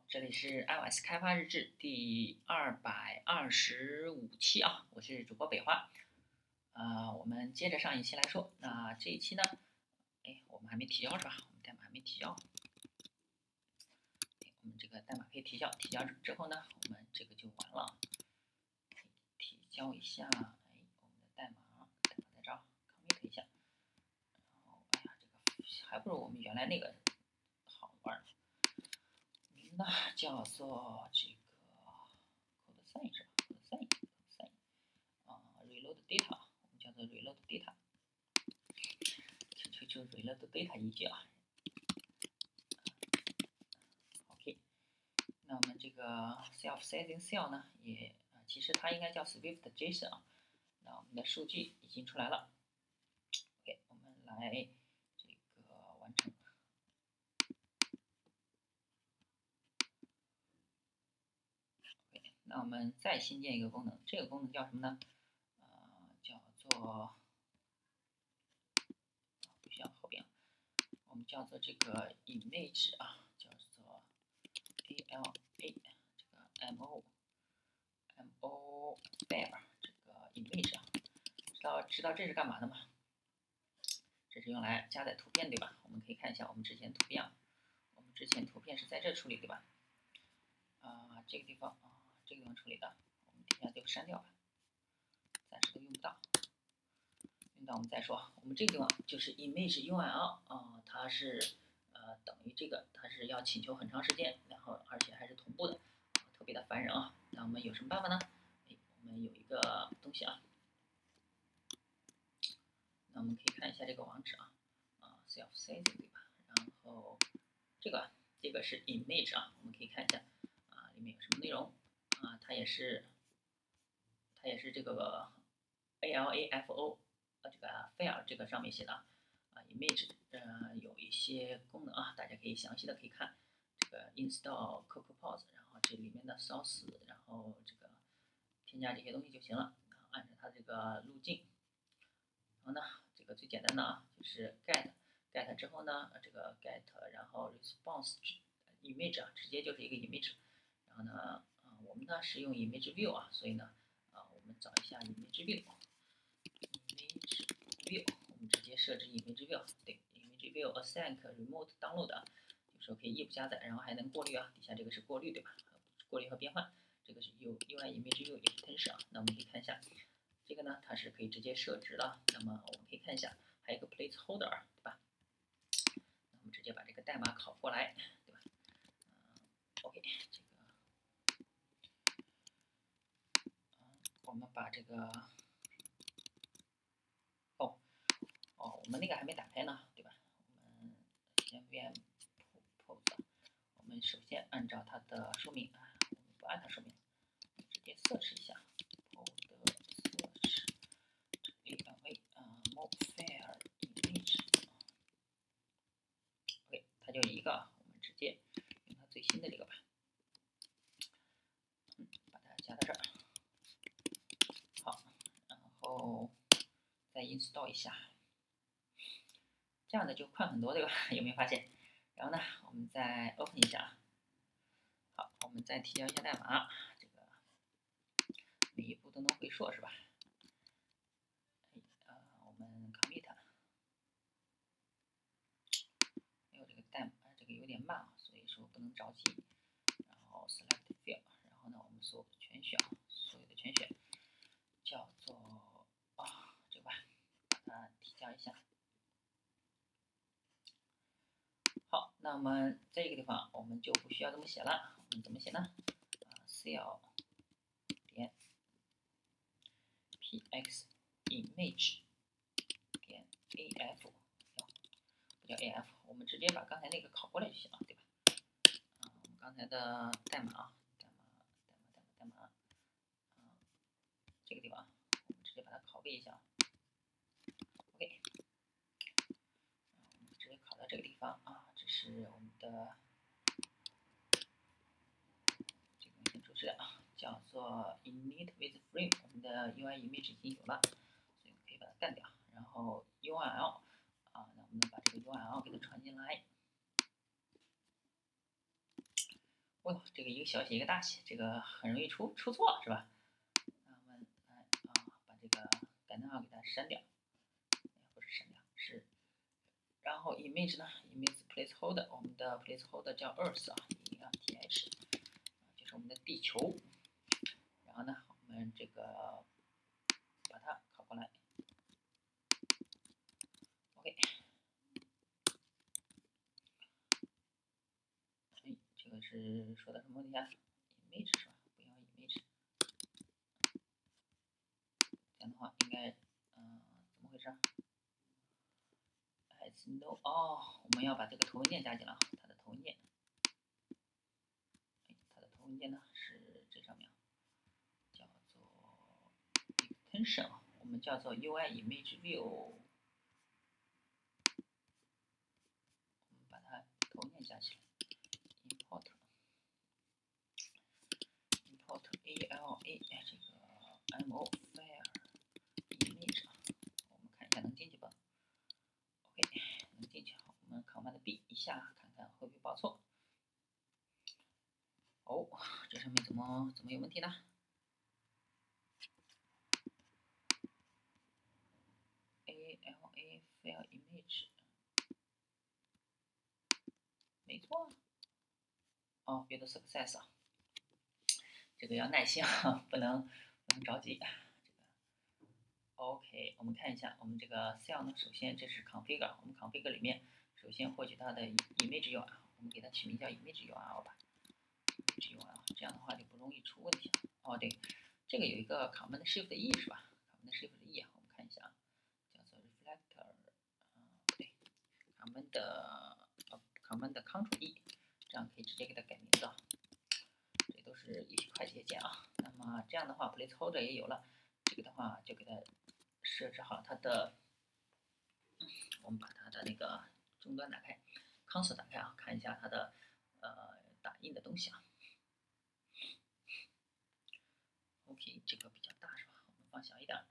这里是 iOS 开发日志第225期啊，我是主播北花。我们接着上一期来说，那这一期呢，我们还没提交是吧？我们代码还没提交。我们这个代码可以提交，提交之后呢，我们这个就完了。提交一下，我们的代码在这儿 commit 一下。然后，这个还不如我们原来那个好玩。名呢叫做这个 code sign 是吧 ？code sign reload data， 我们叫做 reload data， 就 reload data 一句啊。OK， 那我们这个 self setting cell 呢，其实它应该叫 Swift JSON 啊。那我们的数据已经出来了。OK， 我们来这个完成。那我们再新建一个功能，这个功能叫什么呢？叫做不需要后边，我们叫做这个 image 啊，叫做 ALA 这个 MO bear 这个 image 啊，知道这是干嘛的吗？这是用来加载图片对吧？我们可以看一下我们之前图片啊，我们之前图片是在这处理对吧？这个地方处理的，我们底下就删掉吧，暂时都用不到。用到我们再说。我们这个地方就是 image URL 它是等于这个，它是要请求很长时间，然后而且还是同步的，特别的烦人啊。那我们有什么办法呢？我们有一个东西啊，那我们可以看一下这个网址啊，self setting 对吧？然后这个是 image 啊，我们可以看一下里面有什么内容它也是这个 ALAFO 这个 file 这个上面写的image 有一些功能大家可以详细的可以看这个 install CocoaPods， 然后这里面的 source， 然后这个添加这些东西就行了，按照它这个路径。然后呢，这个最简单的就是 get 之后呢，这个 get 然后 response image 直接就是一个 image。然后呢，我们呢是用 image view 所以呢，我们找一下 image view， 我们直接设置 image view， 对 image view async remote download 就是说可以异步加载，然后还能过滤底下这个是过滤对吧？过滤和变换，这个是 UI image view extension 那我们可以看一下，这个呢它是可以直接设置的。那么我们可以看一下，还有一个 placeholder 对吧？那我们直接把这个代码拷过来，对吧？OK， 这个我们把这个我们那个还没打开呢，对吧？我们先 VM pose， 我们首先按照它的说明我们不按它说明，直接 search 一下 pose search ALA mobile image OK， 它就一个，我们直接用它最新的这个吧，把它加到这儿。好，然后再 install 一下。这样的就快很多，对吧？有没有发现？然后呢，我们再 open 一下。好，我们再提交一下代码，这个每一步都能回溯是吧？我们 commit， 没有这个代码，这个有点慢所以说不能着急。然后 select field， 然后呢，我们所有的全选，叫做这个吧，把它提交一下。好，那么这个地方我们就不需要这么写了，我们怎么写呢？cell 点 px image 点 af， 不叫 af， 我们直接把刚才那个拷过来就行了，对吧？我们刚才的代码这个地方我们直接把它拷贝一下。OK， 我们直接拷到这个地方这是我们的这个先出示叫做 init with frame， 我们的 UI image 已经有了，所以可以把它干掉。然后 URL 那我们把这个 URL 给它传进来。 哦呦，这个一个小写一个大写，这个很容易出错是吧？那我们来把这个感叹号给它删掉，不是删掉是。然后 image 呢 ，image placeholder， 我们的 placeholder 叫 Earth 啊，EARTH，就是我们的地球。然后呢，我们这个把它拷过来 ，OK。哎，这个是说的什么问题啊 ？image 是吧？不要 image， 这样的话应该，怎么回事？as no， 我们要把这个头文件加进来啊，它的头文件。它的头文件呢是这上面叫做 extension 啊，我们叫做 UI image view， 我们把它头文件加起来 ，import ALA 这个 mo file image 啊，我们看一下能进去吧 ？OK， 能进去，我们 Command B 一下看看会不会报错。哦，这上面怎么有问题呢？ALA file image， 没错。哦 ，build success 啊，这个要耐心啊，不能着急。OK， 我们看一下我们这个 cell 呢，首先这是 configure， 我们 configure 里面首先获取它的 image URL， 我们给它取名叫 image URL 吧 ，image URL， 这样的话就不容易出问题了。哦，对，这个有一个 Command Shift E 是吧 ？Command Shift E， 我们看一下啊，叫做 reflector， 不对 ，Command Ctrl E， 这样可以直接给它改名字啊。这都是一些快捷键啊。那么这样的话 ，placeholder 也有了，这个的话就给它设置好它的，我们把它的那个终端打开 ，console 打开啊，看一下它的打印的东西啊。OK， 这个比较大是吧？我们放小一点。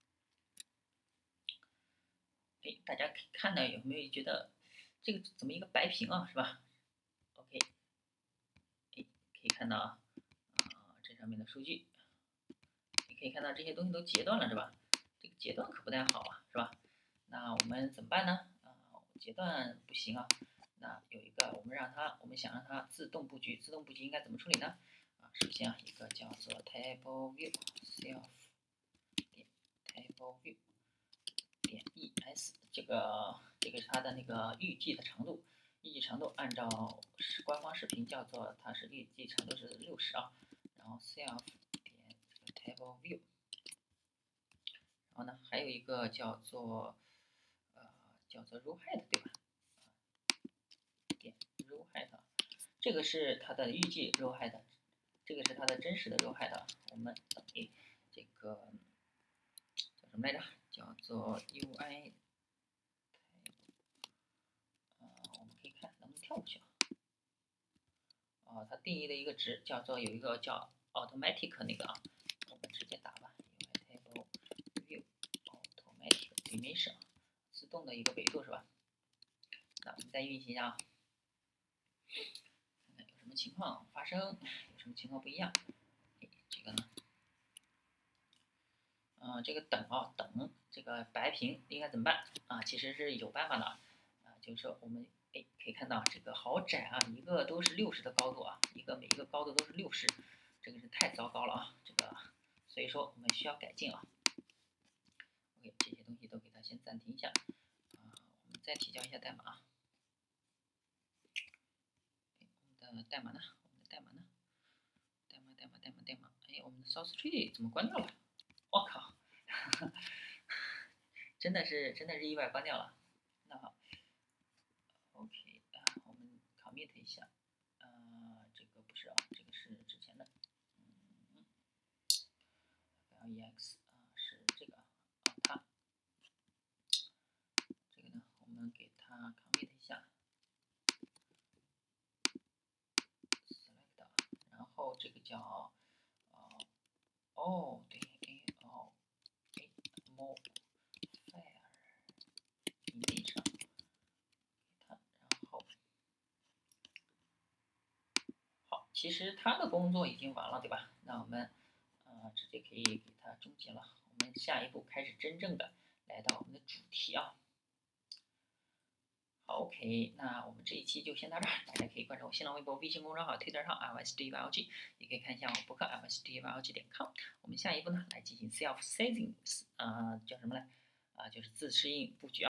哎，大家看到有没有觉得这个怎么一个白屏啊，是吧 ？OK， 哎，可以看到啊，这上面的数据，你可以看到这些东西都截断了是吧？这个截断可不太好啊，是吧？那我们怎么办呢？截断不行啊。那有一个，我们想让它自动布局，自动布局应该怎么处理呢？首先一个叫做 table view self 点 table view 点 es， 这个是它的那个预计的长度，预计长度按照官方视频叫做它是预计长度是60啊。然后 self 点这个 table view。然后呢，还有一个叫做row height 对吧？点 row height， 这个是它的预计 row height， 这个是它的真实的 row height， 我们等于这个叫什么来着？叫做 UI， 我们可以看能不能跳过去啊？它定义的一个值叫做有一个叫 automatic 那个啊，我们直接打吧 UI table view automatic dimension， 自动的一个维度是吧？那我们再运行一下啊，看看有什么情况发生，有什么情况不一样。这个呢，这个等这个白屏应该怎么办啊？其实是有办法的啊，就是说我们可以看到这个好窄啊，一个都是60的高度啊，每一个高度都是60，这个是太糟糕了啊，这个所以说我们需要改进啊。OK， 这些东西都给它先暂停一下啊，我们再提交一下代码啊。我们的代码呢？代码，哎，我们的 source tree 怎么关掉了？我靠，真的是意外关掉了。那好 ，OK 我们 commit 一下，这个不是啊，这个是之前的，lex 是这个它这个呢，我们给它 commit 一下 select， 然后这个叫对 mo file image 它，然后好， 其实他的工作已经完了，对吧？那我们直接可以给它终结了。我们下一步开始真正的来到我们的主题啊。好 OK，那我们这一期就先到这儿，大家可以关注我新浪微博、微信公众号、推特上 LSDYLG，也可以看一下我博客 LSDYLG.com。我们下一步呢，来进行 self settings，叫什么呢？就是自适应布局啊。